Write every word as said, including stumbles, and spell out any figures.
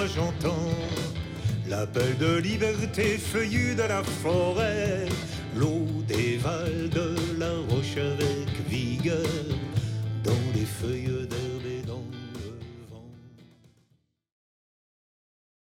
j'entends l'appel de liberté feuillu de la forêt, l'eau dévale de la roche avec vigueur.